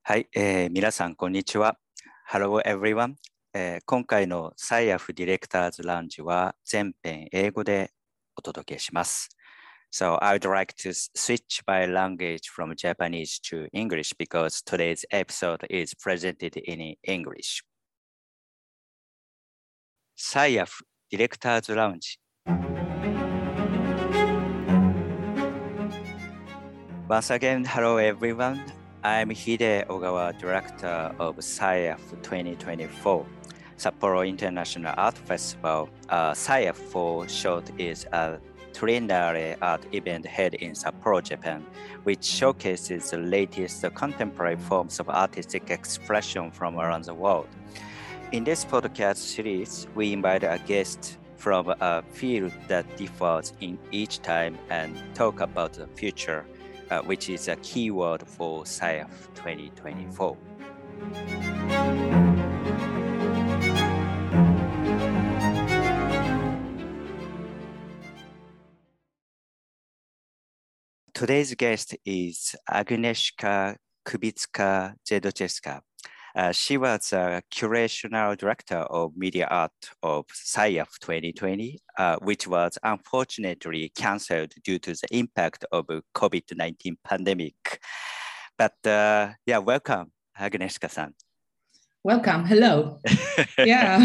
はい、皆さんこんにちは。Hello everyone、今回のサイアフディレクターズラウンジは全編英語でお届けします。So I would like to switch my language from Japanese to English because today's episode is presented in English. サイアフディレクターズラウンジ。Once again, hello everyone.I'm Hide Ogawa, Director of SciAF 2024, Sapporo International Art Festival. SciAF for short is a triennale art event held in Sapporo, Japan, which showcases the latest contemporary forms of artistic expression from around the world. In this podcast series, we invite a guest from a field that differs in each time and talk about the future.which is a keyword for SciAF 2024. Today's guest is Agnieszka Kubicka-Jedrzejewska. She was a curational director of media art of SciAF 2020, which was unfortunately cancelled due to the impact of COVID-19 pandemic. But welcome, Agnieszka-san. Welcome. Hello. Yeah.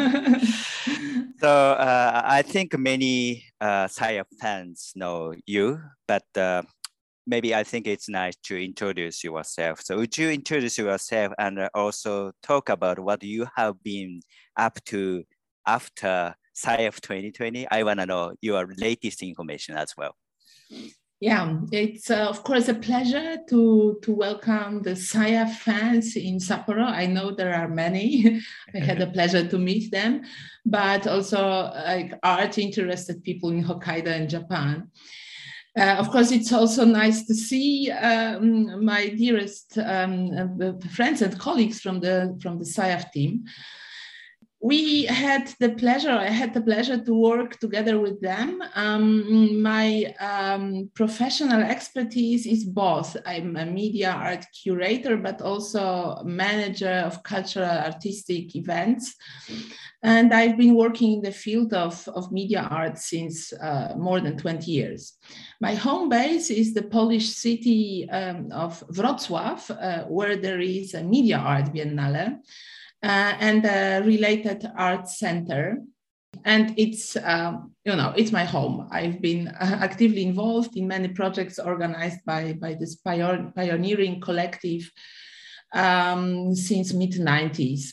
So I think many SciAF fans know you, but maybe I think it's nice to introduce yourself. So would you introduce yourself and also talk about what you have been up to after SciAF 2020? I want to know your latest information as well. Yeah, it's of course a pleasure to welcome the SciAF fans in Sapporo. I know there are many. I had the pleasure to meet them, but also like art interested people in Hokkaido and Japan. Of course, it's also nice to see my dearest friends and colleagues from the SciAF team. I had the pleasure to work together with them. My professional expertise is both. I'm a media art curator, but also manager of cultural artistic events. And I've been working in the field of media art since more than 20 years. My home base is the Polish city of Wrocław, where there is a media art biennale. And a related art center. And it's, it's my home. I've been actively involved in many projects organized by this pioneering collective since mid-90s.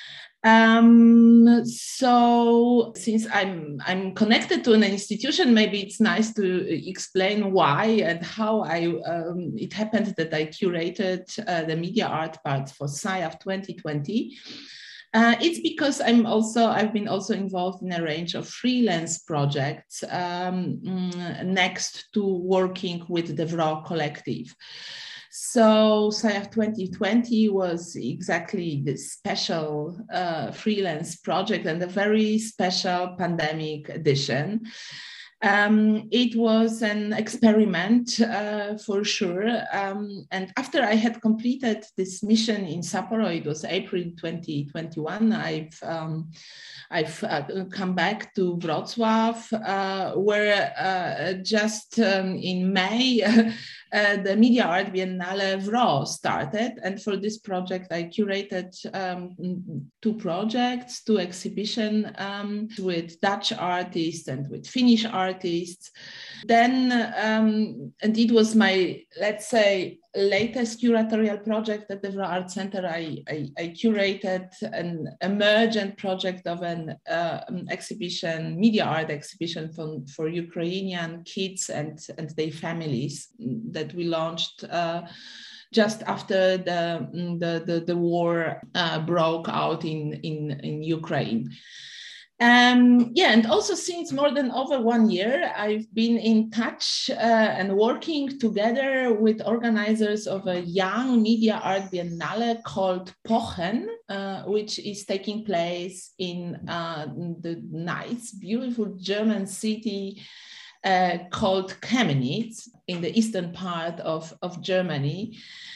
So since I'm connected to an institution, maybe it's nice to explain why and how it happened that I curated the media art part for SciAF 2020. It's because I've been also involved in a range of freelance projects next to working with the WRO collective. So SciAF 2020 was exactly this special freelance project and a very special pandemic edition. It was an experiment for sure. And after I had completed this mission in Sapporo, it was April 2021, I've come back to Wrocław, where just in May, the Media Art Biennale WRO started. And for this project, I curated two exhibitions with Dutch artists and with Finnish artists. Then, and it was my, let's say, latest curatorial project at the WRO Art Center. I curated an emergent project of an exhibition, media art exhibition for Ukrainian kids and their families that we launched just after the war broke out in Ukraine. And also since more than over 1 year, I've been in touch and working together with organizers of a young media art biennale called Pochen, which is taking place in the nice, beautiful German city called Chemnitz in the eastern part of Germany.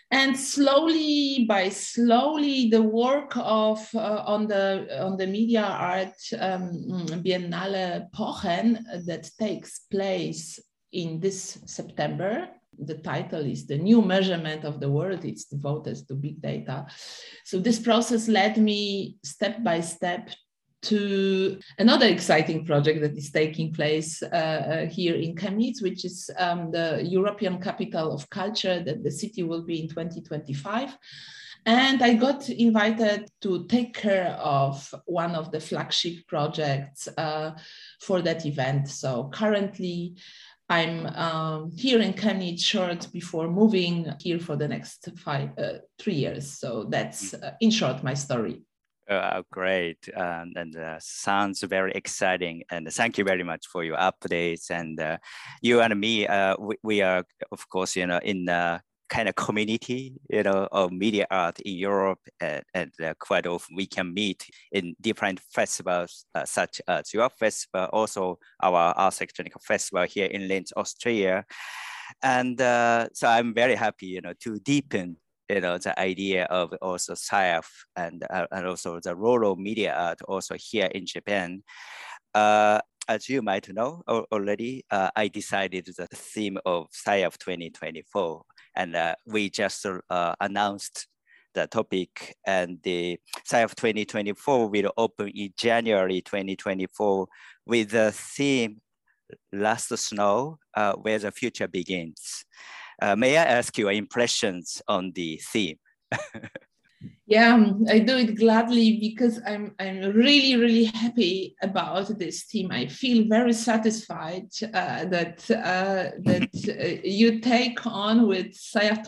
And slowly the work of on the media art Biennale Pochen that takes place in this September. The title is The New Measurement of the World. It's devoted to big data. So this process led me step by step to another exciting project that is taking place here in Chemnitz, which is the European Capital of Culture that the city will be in 2025. And I got invited to take care of one of the flagship projects for that event. So currently, I'm here in Chemnitz short before moving here for the next 3 years. So that's in short my story. Great, and sounds very exciting. And thank you very much for your updates. And you and me, we are, of course, in the kind of community, of media art in Europe, and quite often we can meet in different festivals, such as your festival, also our Ars Electronica festival here in Linz, Austria. And so I'm very happy, to deepen the idea of also SciAF and also the role of media art also here in Japan. As you might know already, I decided the theme of SciAF 2024, and we just announced the topic, and the SciAF 2024 will open in January 2024 with the theme Last Snow, Where the Future Begins. May I ask your impressions on the theme? Yeah, I do it gladly because I'm really happy about this theme. I feel very satisfied that you take on with SciAF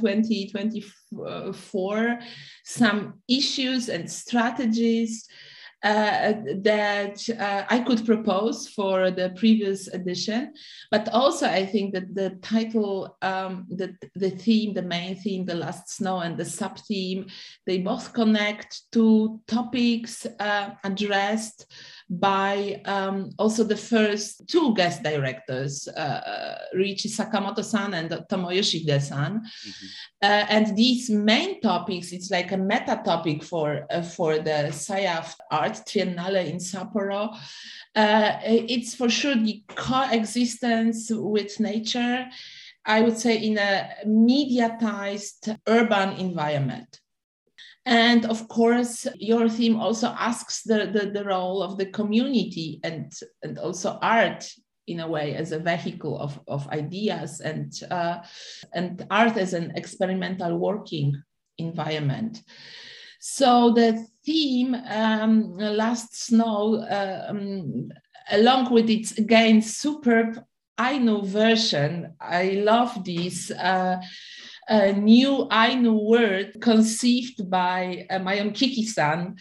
2024 some issues and strategies that I could propose for the previous edition, but also I think that the title, the theme, the main theme, the last snow, and the sub-theme, they both connect to topics addressed by also the first two guest directors, Riichi Sakamoto-san and Tomoyoshi Hide-san. Mm-hmm. And these main topics, it's like a meta topic for the SciAF Art Triennale in Sapporo. It's for sure the coexistence with nature, I would say, in a mediatized urban environment. And of course, your theme also asks the role of the community and also art in a way as a vehicle of ideas and art as an experimental working environment. So the theme, Last Snow, along with its again superb Ainu version, I love this a new Ainu word conceived by Mayon Kiki-san,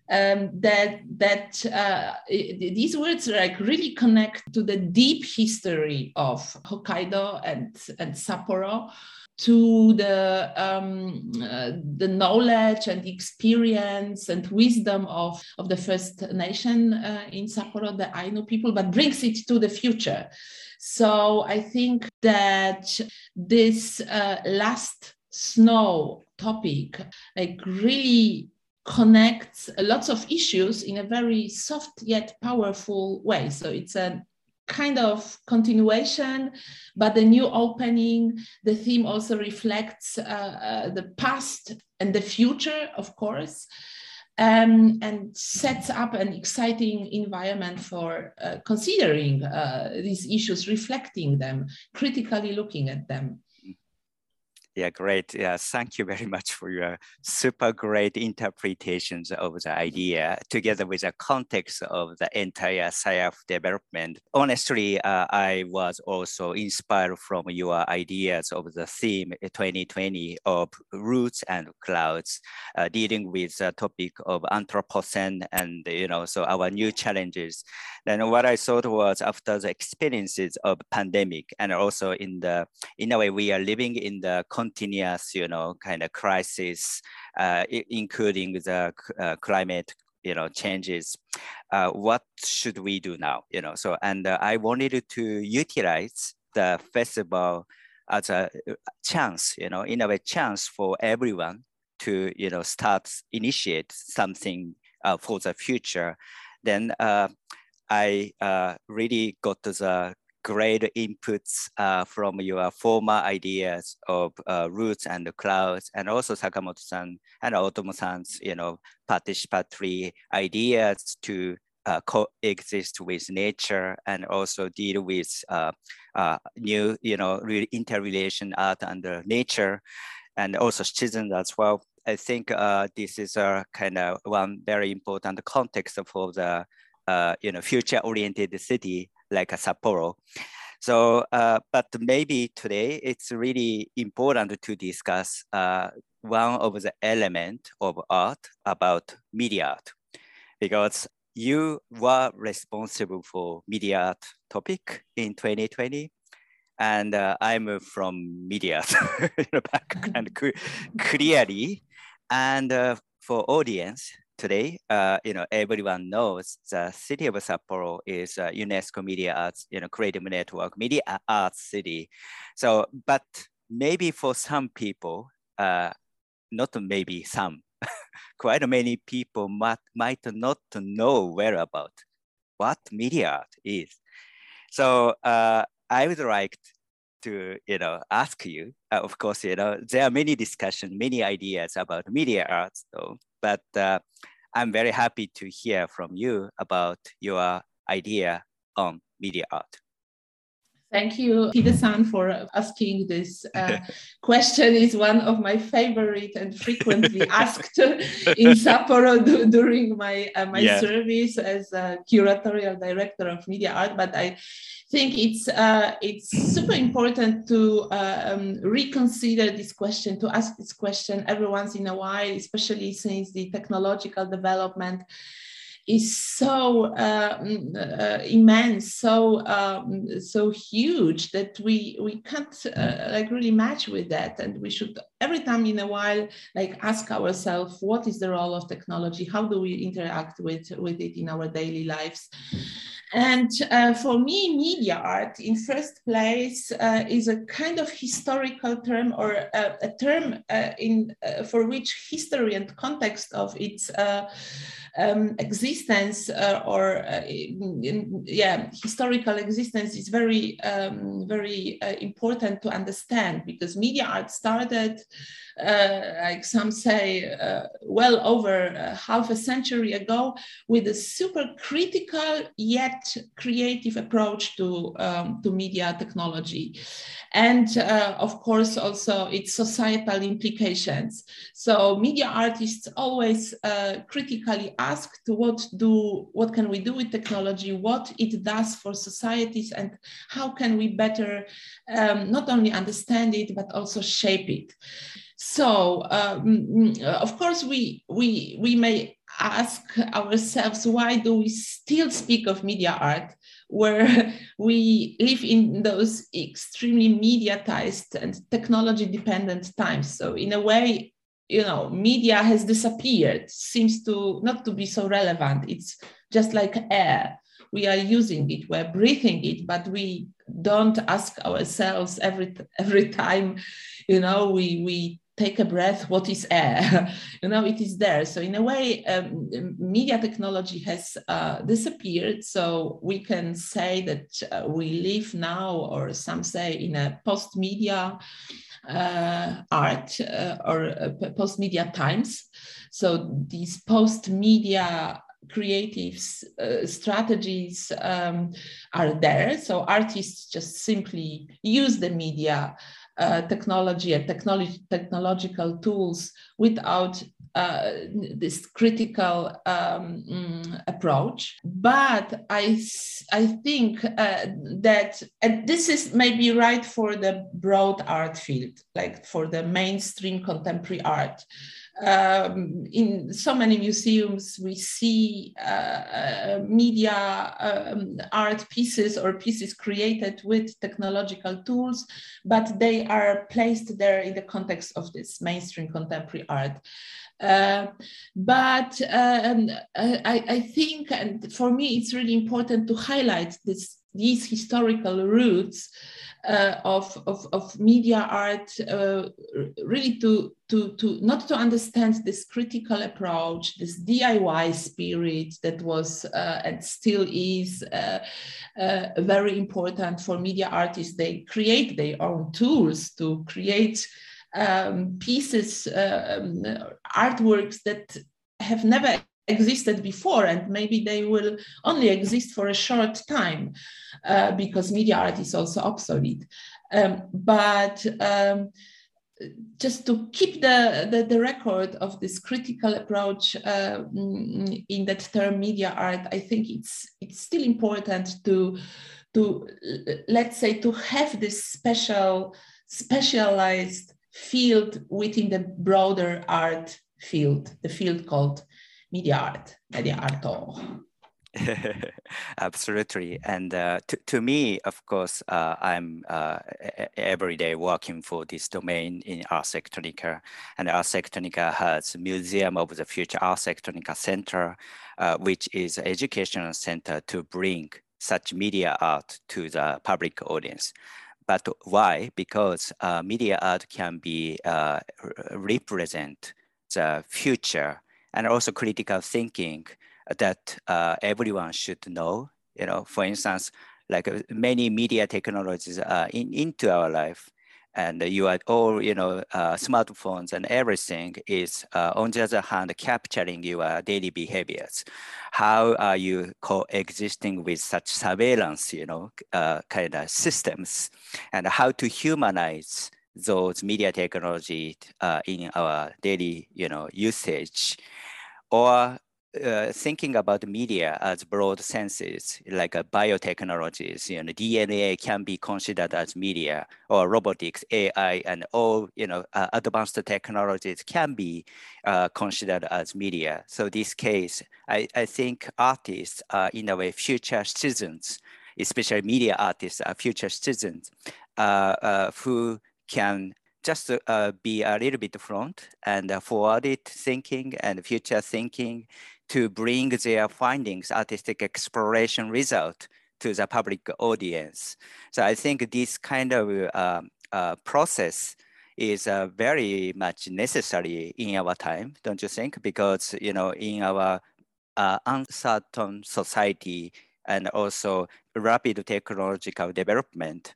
these words like really connect to the deep history of Hokkaido and Sapporo, to the knowledge and experience and wisdom of the First Nation in Sapporo, the Ainu people, but brings it to the future. So I think that this last snow topic like really connects lots of issues in a very soft yet powerful way. So it's a kind of continuation, but the new opening. The theme also reflects the past and the future, of course, and sets up an exciting environment for considering these issues, reflecting them, critically looking at them. Yeah, great. Yeah, thank you very much for your super great interpretations of the idea, together with the context of the entire SciAF development. Honestly, I was also inspired from your ideas of the theme 2020 of roots and clouds, dealing with the topic of Anthropocene and so our new challenges. Then what I thought was, after the experiences of pandemic, and also in a way we are living in the continuous, kind of crisis, including the climate, changes. What should we do now? And I wanted to utilize the festival as a chance, in a way, chance for everyone to, initiate something for the future. Then I really got the great inputs from your former ideas of roots and the clouds, and also Sakamoto-san and Otomo-san's, participatory ideas to coexist with nature and also deal with new, interrelation art and nature, and also citizens as well. I think this is a kind of one very important context for the future-oriented city like Sapporo. So, but maybe today it's really important to discuss one of the elements of art about media art, because you were responsible for media art topic in 2020. And I'm from media background clearly. And for audience today, everyone knows the city of Sapporo is a UNESCO Media Arts, Creative Network Media Arts City. So, but maybe for some people, not maybe some, quite many people might not know well about what media art is. So I would like to, ask you, of course, there are many discussions, many ideas about media arts, though, but I'm very happy to hear from you about your idea on media art. Thank you, Hide-san, for asking this question. It's one of my favorite and frequently asked in Sapporo during my service as a curatorial director of media art. But I think it's super important to reconsider this question, to ask this question every once in a while, especially since the technological development is so immense, so huge that we can't really match with that, and we should every time in a while ask ourselves, what is the role of technology? How do we interact with it in our daily lives? And for me, media art, in first place, is a kind of historical term, or a term for which history and context of its existence historical existence is very important to understand, because media art started, like some say, well over half a century ago, with a super critical yet creative approach to media technology, and of course also its societal implications. So media artists always critically asked what can we do with technology, what it does for societies, and how can we better not only understand it but also shape it. So of course we may ask ourselves, why do we still speak of media art where we live in those extremely mediatized and technology dependent times? So in a way, media has disappeared, seems to not to be so relevant. It's just like air. We are using it, we're breathing it, but we don't ask ourselves every time, we take a breath, what is air? It is there. So in a way, media technology has disappeared. So we can say that we live now, or some say, in a post-media art or post-media times. So these post-media creative strategies are there. So artists just simply use the media technology and technological tools without this critical approach. But I think that, and this is maybe right for the broad art field, like for the mainstream contemporary art. In so many museums, we see media art pieces or pieces created with technological tools, but they are placed there in the context of this mainstream contemporary art. But I think, and for me, it's really important to highlight these historical roots of media art, really to not to understand this critical approach, this DIY spirit that was and still is very important for media artists. They create their own tools to create pieces, artworks that have never existed before, and maybe they will only exist for a short time because media art is also obsolete. But just to keep the record of this critical approach in that term media art, I think it's still important to let's say to have this specialized field within the broader art field, the field called media art, media art. Absolutely. And to me, of course, I'm every day working for this domain in Ars Electronica. And Ars Electronica has Museum of the Future Ars Electronica Center, which is an educational center to bring such media art to the public audience. But why? Because media art can be represent the future and also critical thinking that everyone should know. You know, for instance, like many media technologies into our life, and you are all, you know, smartphones and everything is on the other hand capturing your daily behaviors. How are you coexisting with such surveillance, you know, kind of systems, and how to humanize those media technology in our daily, you know, usage, or thinking about media as broad senses, like biotechnologies, you know, DNA can be considered as media, or robotics, AI, and all, you know, advanced technologies can be considered as media. So this case, I think artists are in a way future citizens, especially media artists are future citizens who can just be a little bit front and forwarded thinking and future thinking to bring their findings, artistic exploration result to the public audience. So I think this kind of process is very much necessary in our time, don't you think? Because, you know, in our uncertain society and also rapid technological development,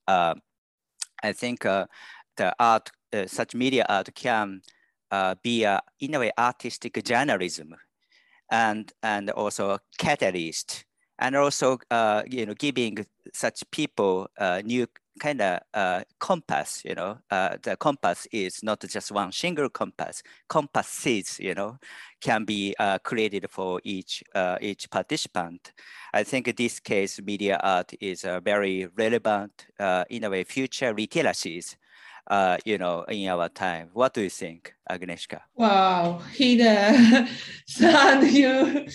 I think the art, such media art can be in a way artistic journalism, and also catalyst, and also you know, giving such people new kind of compass. You know, the compass is not just one single compass. Compasses, you know, can be created for each participant. I think in this case, media art is very relevant in a way future literacies. You know, in our time. What do you think, Agnieszka? Wow, Hide, son, you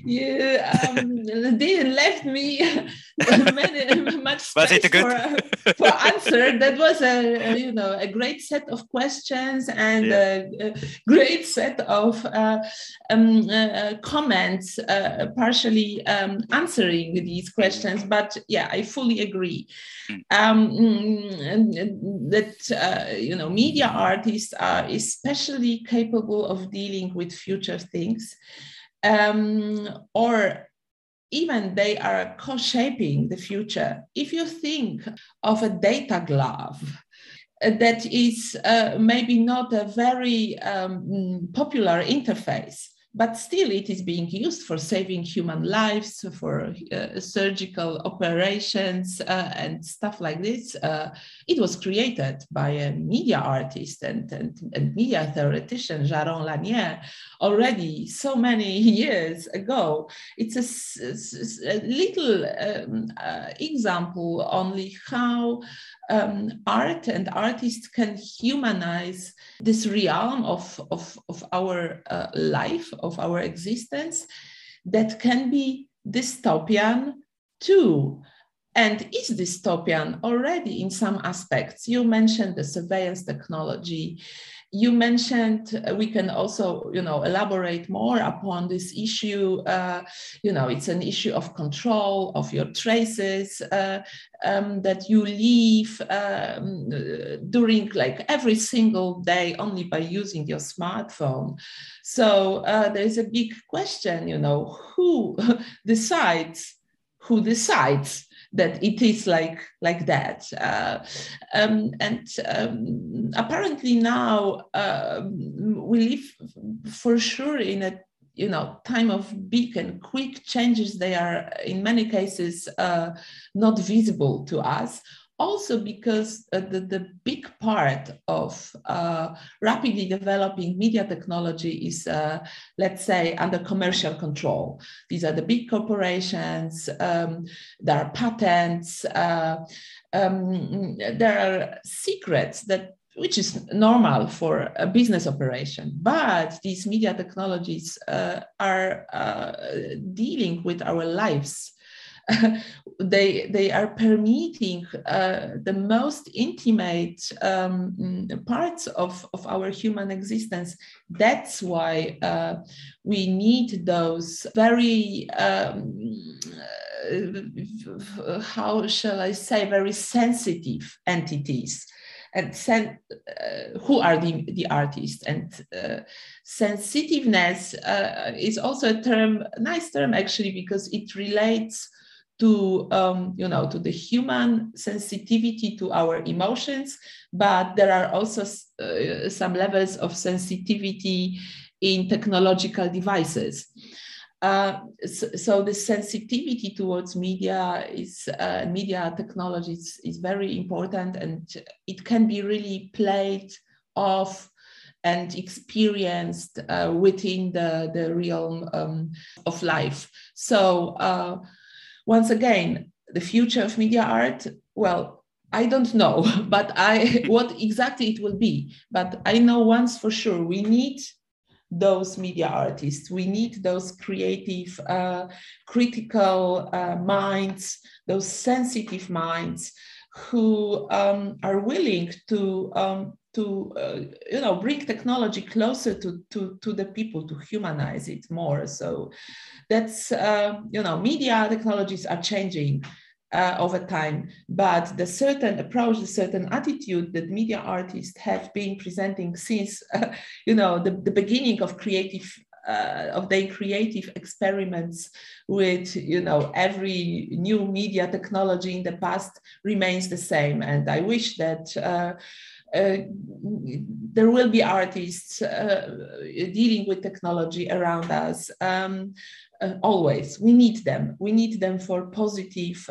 didn't left me much space for answer. That was a great set of questions and a great set of comments, partially answering these questions. But yeah, I fully agree that you know, media artists are especially capable of dealing with future things, or even they are co-shaping the future. If you think of a data glove, that is maybe not a very popular interface, but still it is being used for saving human lives, for surgical operations and stuff like this. It was created by a media artist and media theoretician, Jaron Lanier, already so many years ago. It's a little example only how art and artists can humanize this realm of our life, of our existence, that can be dystopian too, and is dystopian already in some aspects. You mentioned the surveillance technology. you mentioned we can also, elaborate more upon this issue. It's an issue of control of your traces that you leave during like every single day only by using your smartphone. So there's a big question, who decides that it is like that. Apparently now we live for sure in a time of big and quick changes. They are in many cases not visible to us. Also because the big part of rapidly developing media technology is, let's say, under commercial control. These are the big corporations, there are patents, there are secrets which is normal for a business operation, but these media technologies are dealing with our lives. They are permeating the most intimate parts of our human existence. That's why we need those very, how shall I say, very sensitive entities. And who are the artists? And sensitiveness is also a nice term actually, because it relates to to the human sensitivity to our emotions, but there are also some levels of sensitivity in technological devices. So the sensitivity towards media technologies is very important, and it can be really played off and experienced within the realm of life. So once again, the future of media art, well, I don't know, but what exactly it will be. But I know once for sure, we need those media artists. We need those creative, critical minds, those sensitive minds who are willing to bring technology closer to the people, to humanize it more. So that's, media technologies are changing over time, but the certain approach, the certain attitude that media artists have been presenting since, the beginning of their creative experiments with, every new media technology in the past remains the same. And I wish that there will be artists dealing with technology around us. Always, we need them. We need them for positive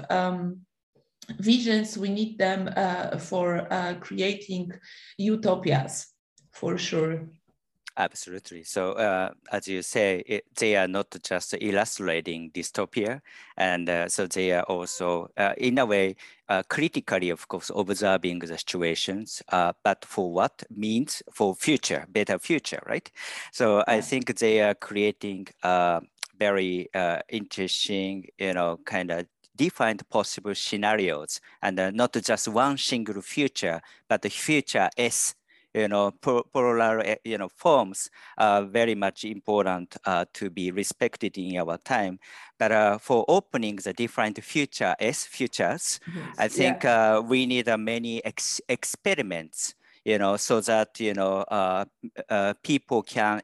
visions. We need them for creating utopias, for sure. Absolutely. So as you say, they are not just illustrating dystopia, and so they are also, in a way, critically, of course, observing the situations, but for what means for future, better future, right? So I think they are creating very interesting, kind of defined possible scenarios, and not just one single future, but the future S. Plural, forms are very much important to be respected in our time. But for opening the different futures, yes, I think we need many experiments, so that, people can,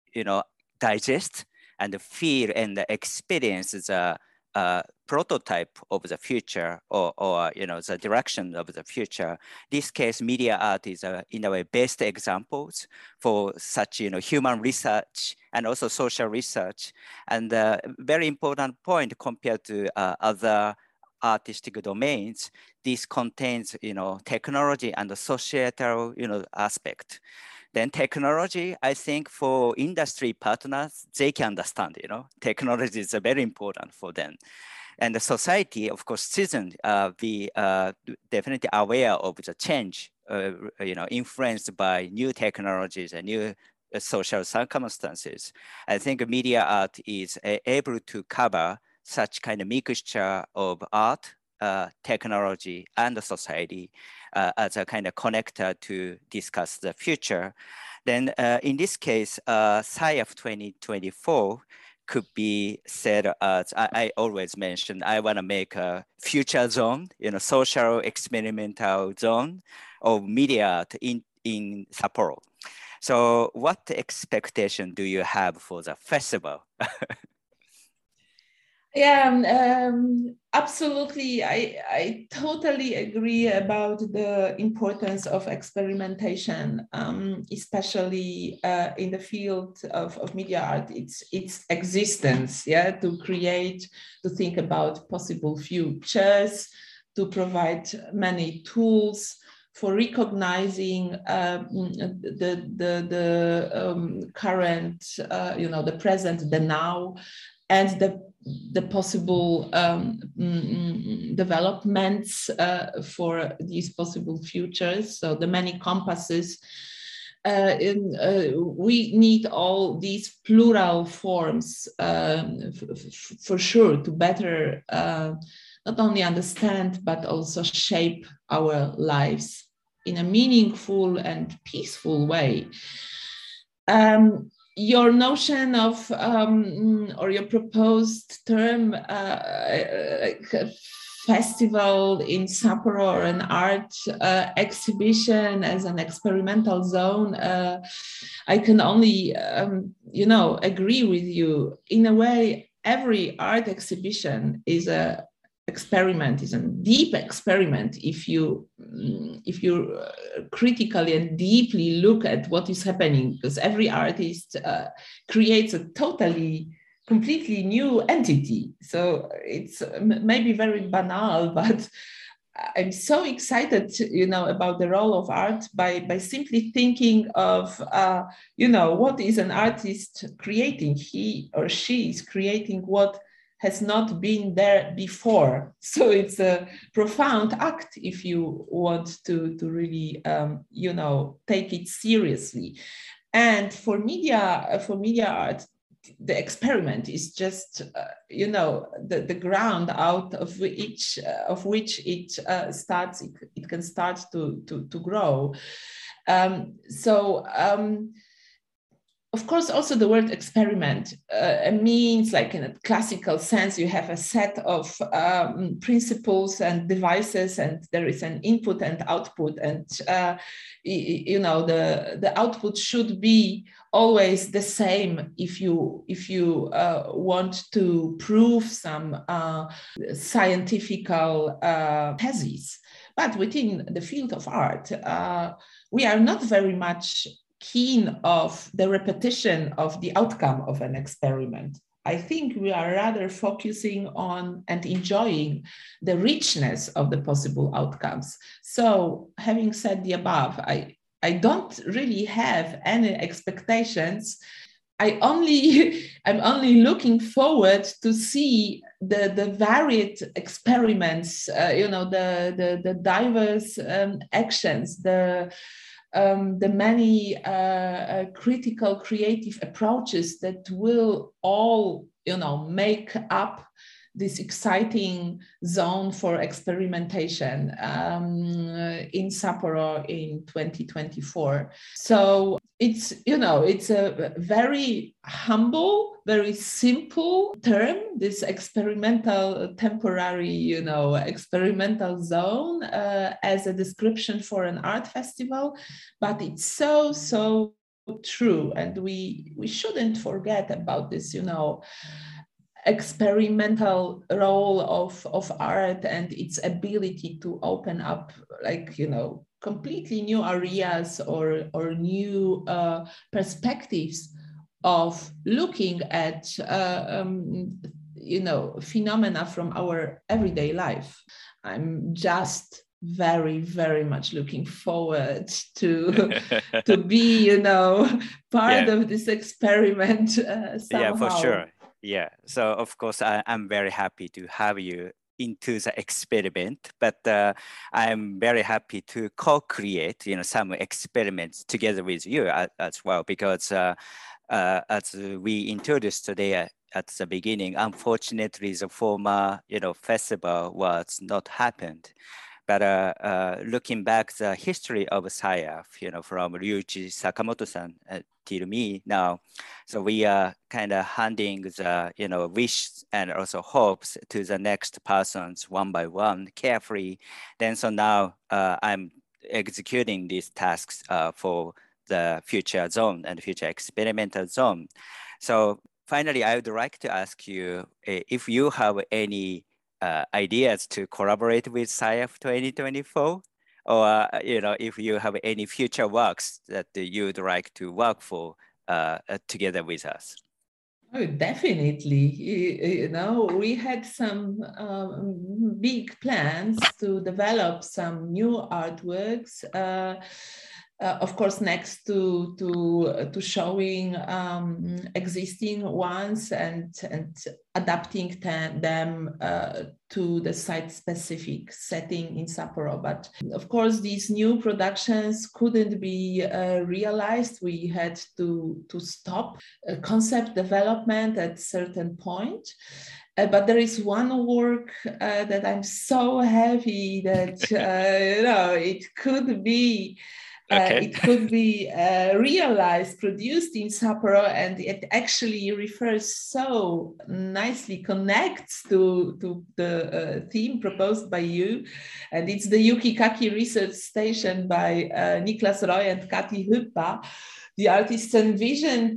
digest and feel and experience the prototype of the future, or the direction of the future. This case, media art is in a way best examples for such human research and also social research. And very important point compared to other artistic domains, this contains technology and the societal aspect. Then technology, I think for industry partners, they can understand, technology is very important for them. And the society, of course, citizens be definitely aware of the change, influenced by new technologies and new social circumstances. I think media art is able to cover such kind of mixture of art, technology, and society as a kind of connector to discuss the future. Then in this case, SciAF 2024 could be said as, I always mention, I want to make a future zone, social experimental zone of media art in Sapporo. So what expectation do you have for the festival? Yeah, absolutely. I totally agree about the importance of experimentation, especially in the field of media art. Its existence, yeah, to create, to think about possible futures, to provide many tools for recognizing the current, the present, the now, and the possible developments for these possible futures. So the many compasses. We need all these plural forms for sure to better not only understand but also shape our lives in a meaningful and peaceful way. Your notion of or your proposed term festival in Sapporo, or an art exhibition as an experimental zone, I can only agree with you. In a way, every art exhibition is a experiment, is a deep experiment if you critically and deeply look at what is happening, because every artist creates a completely new entity. So it's maybe very banal, but I'm so excited, about the role of art by simply thinking of, what is an artist creating? He or she is creating what has not been there before. So it's a profound act if you want to really, take it seriously. And for media art, the experiment is just, the ground out of which it starts. It can start to grow. Of course, also the word experiment means, like in a classical sense, you have a set of principles and devices, and there is an input and output, and the output should be always the same if you want to prove some scientific thesis. But within the field of art, we are not very much keen of the repetition of the outcome of an experiment. I think we are rather focusing on and enjoying the richness of the possible outcomes. So, having said the above, I don't really have any expectations. I'm only looking forward to see the varied experiments, the diverse actions, the many critical creative approaches that will all make up this exciting zone for experimentation in Sapporo in 2024. So it's a very humble, very simple term, this experimental temporary experimental zone as a description for an art festival, but it's so true, and we shouldn't forget about this experimental role of art and its ability to open up completely new areas or new perspectives of looking at phenomena from our everyday life. I'm just very, very much looking forward to be part of this experiment somehow. Yeah, for sure. Yeah, so of course I'm very happy to have you into the experiment, but I'm very happy to co-create some experiments together with you as well, because as we introduced today at the beginning, unfortunately the former festival was not happened, But looking back the history of SciAF, from Ryuichi Sakamoto-san till me now, so we are kind of handing the, wish and also hopes to the next persons one by one, carefully. Then so now I'm executing these tasks for the future zone and future experimental zone. So finally, I would like to ask you if you have any ideas to collaborate with SciAF 2024, or if you have any future works that you'd like to work for together with us. Oh, definitely. We had some big plans to develop some new artworks. Of course, next to showing existing ones and adapting them to the site-specific setting in Sapporo. But of course, these new productions couldn't be realized. We had to stop concept development at a certain point. But there is one work that I'm so happy that it could be. Okay. It could be realized, produced in Sapporo, and it actually refers so nicely, connects to the theme proposed by you. And it's the Yukikaki Research Station by Niklas Roy and Kati Hyppa. The artists envisioned,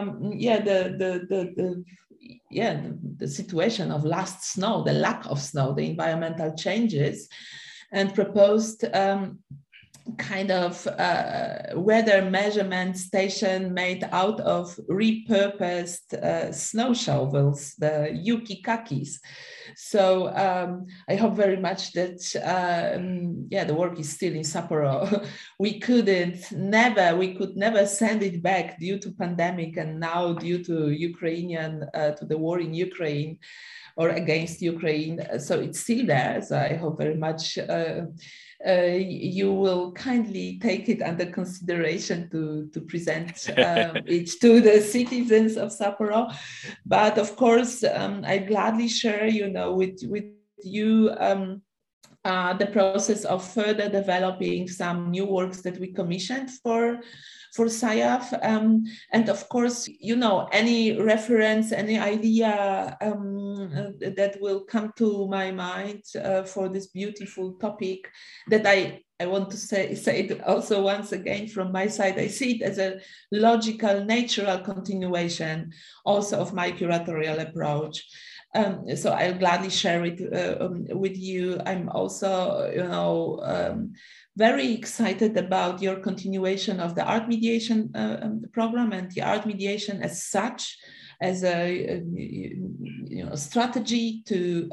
the situation of last snow, the lack of snow, the environmental changes, and proposed kind of weather measurement station made out of repurposed snow shovels, the Yukikakis. So I hope very much that the work is still in Sapporo. We could never send it back due to pandemic, and now due to to the war in Ukraine or against Ukraine. So it's still there. So I hope very much you will kindly take it under consideration to present it to the citizens of Sapporo. But of course, I gladly share, with you the process of further developing some new works that we commissioned for SciAF. And of course, any reference, any idea that will come to my mind for this beautiful topic that I want to say it also once again from my side. I see it as a logical, natural continuation also of my curatorial approach. So I'll gladly share it with you. I'm also, very excited about your continuation of the art mediation program and the art mediation as such, as a strategy to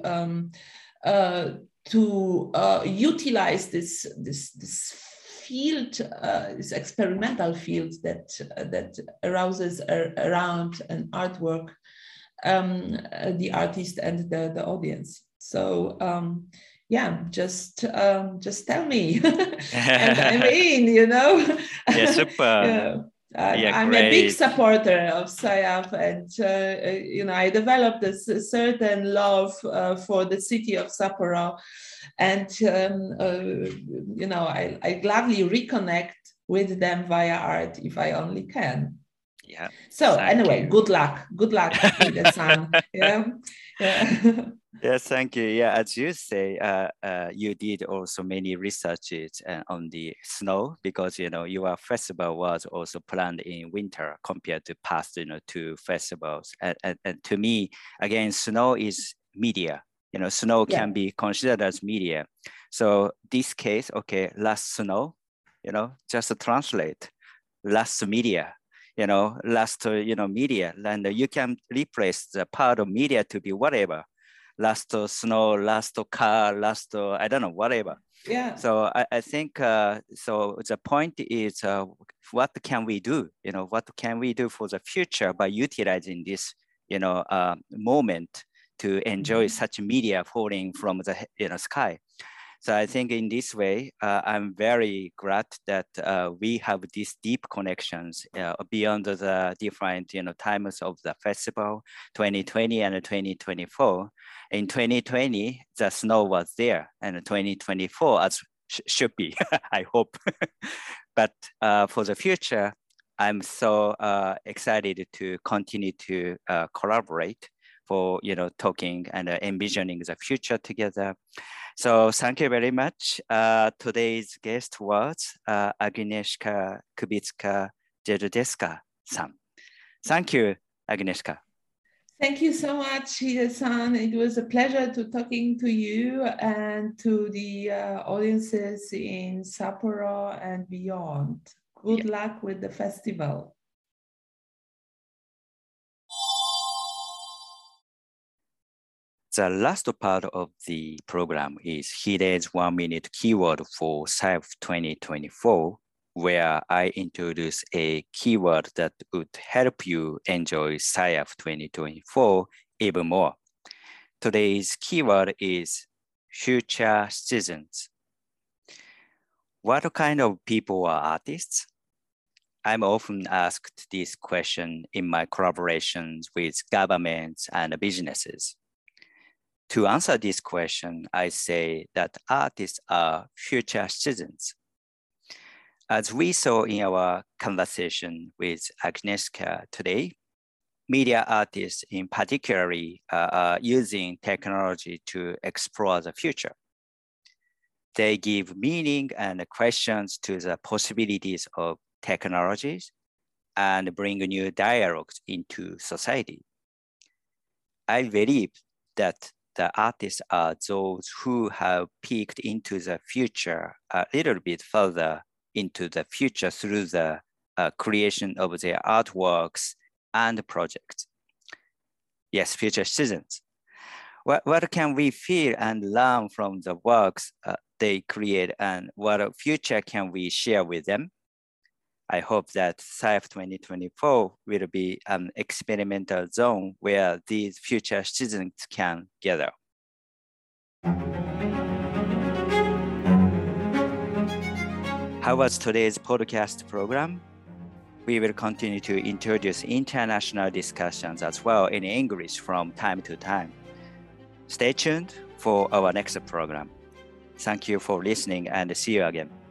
utilize this field, this experimental field that arouses around an artwork the artist and the audience. So just tell me, and I'm in. Yeah, super. I'm a big supporter of SciAF, and I developed a certain love for the city of Sapporo, and I gladly reconnect with them via art if I only can. Yeah. So anyway, good luck, Hide-san. Yeah. Yes, thank you. Yeah, as you say, you did also many researches on the snow, because your festival was also planned in winter compared to past 2 festivals. And to me, again, snow is media. Snow can be considered as media. So this case, okay, last snow, just translate last media. Last media, and you can replace the part of media to be whatever. Last snow, last car, last I don't know, whatever. Yeah. So I think so. The point is, what can we do? What can we do for the future by utilizing this, moment to enjoy such media falling from the sky? So I think in this way, I'm very glad that we have these deep connections beyond the different times of the festival, 2020 and 2024. In 2020, the snow was there, and 2024 as should be, I hope. But for the future, I'm so excited to continue to collaborate for talking and envisioning the future together. So thank you very much. Today's guest was Agnieszka Kubicka-Jedrzejewska-san. Thank you, Agnieszka. Thank you so much, Hide-san. It was a pleasure to talking to you and to the audiences in Sapporo and beyond. Good luck with the festival. The last part of the program is Hide's 1-minute keyword for SIAF 2024, where I introduce a keyword that would help you enjoy SIAF 2024 even more. Today's keyword is future citizens. What kind of people are artists? I'm often asked this question in my collaborations with governments and businesses. To answer this question, I say that artists are future citizens. As we saw in our conversation with Agnieszka today, media artists in particular are using technology to explore the future. They give meaning and questions to the possibilities of technologies and bring new dialogues into society. I believe that the artists are those who have peeked into the future a little bit further into the future through the creation of their artworks and projects. Yes, future citizens. What can we feel and learn from the works they create, and what future can we share with them? I hope that SIAF 2024 will be an experimental zone where these future citizens can gather. How was today's podcast program? We will continue to introduce international discussions as well in English from time to time. Stay tuned for our next program. Thank you for listening and see you again.